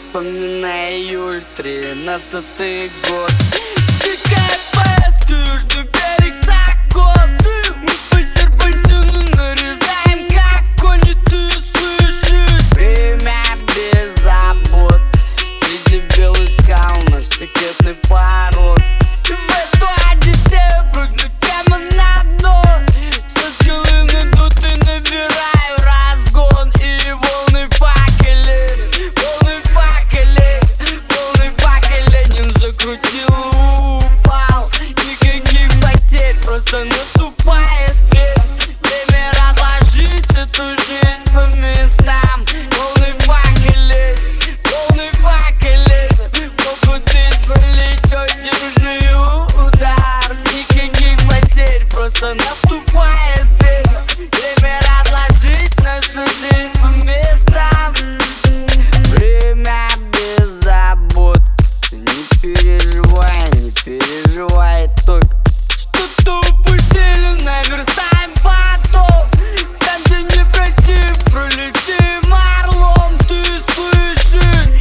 вспоминая июль, 13-й год. ГКПС, южный берег, закон. Мы по серпантину нарезаем, как кони, ты слышишь? Время без забот, среди белых скал наш секретный порог. В эту одиссею прыгнуть прямо на дно. Все скиллы идут и набираю разгон. И волны факели, волны факели, волны факели. Закрутил, упал, никаких потерь, просто наступает время разложить эту жизнь по местам. Волны факели, волны факели, могут и свалить, ой, держи удар. Никаких потерь, просто наступает время разложить нашу жизнь по местам. Время без забот, не переживай только. Что-то упустили, наверстаем потом. Там, где не пройти, пролетим орлом, ты слышишь?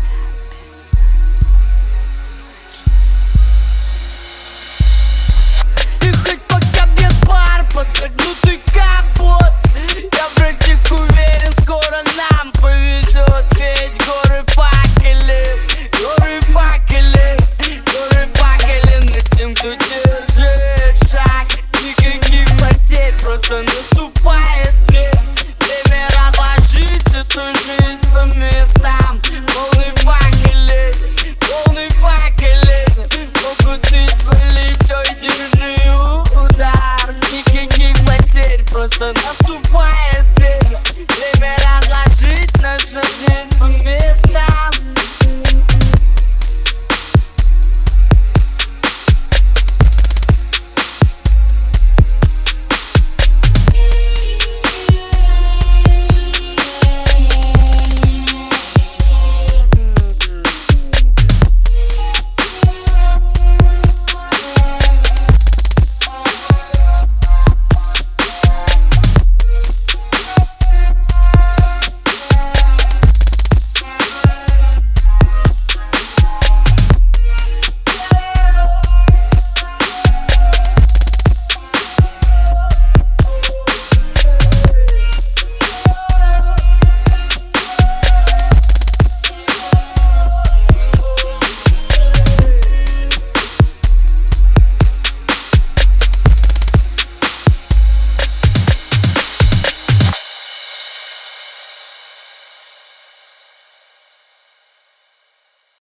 И хоть пока бьет пар, подходит и капот. Я, братик, уверен, скоро нам повезет. Ведь горы факели, горы факели, горы факели. Над тем, кто держит шаг, никаких потерь, просто наступает время разложить эту жизнь по местам. Волны факели, волны факели, могут и свалить, ой, держи удар. Никаких потерь, просто наступает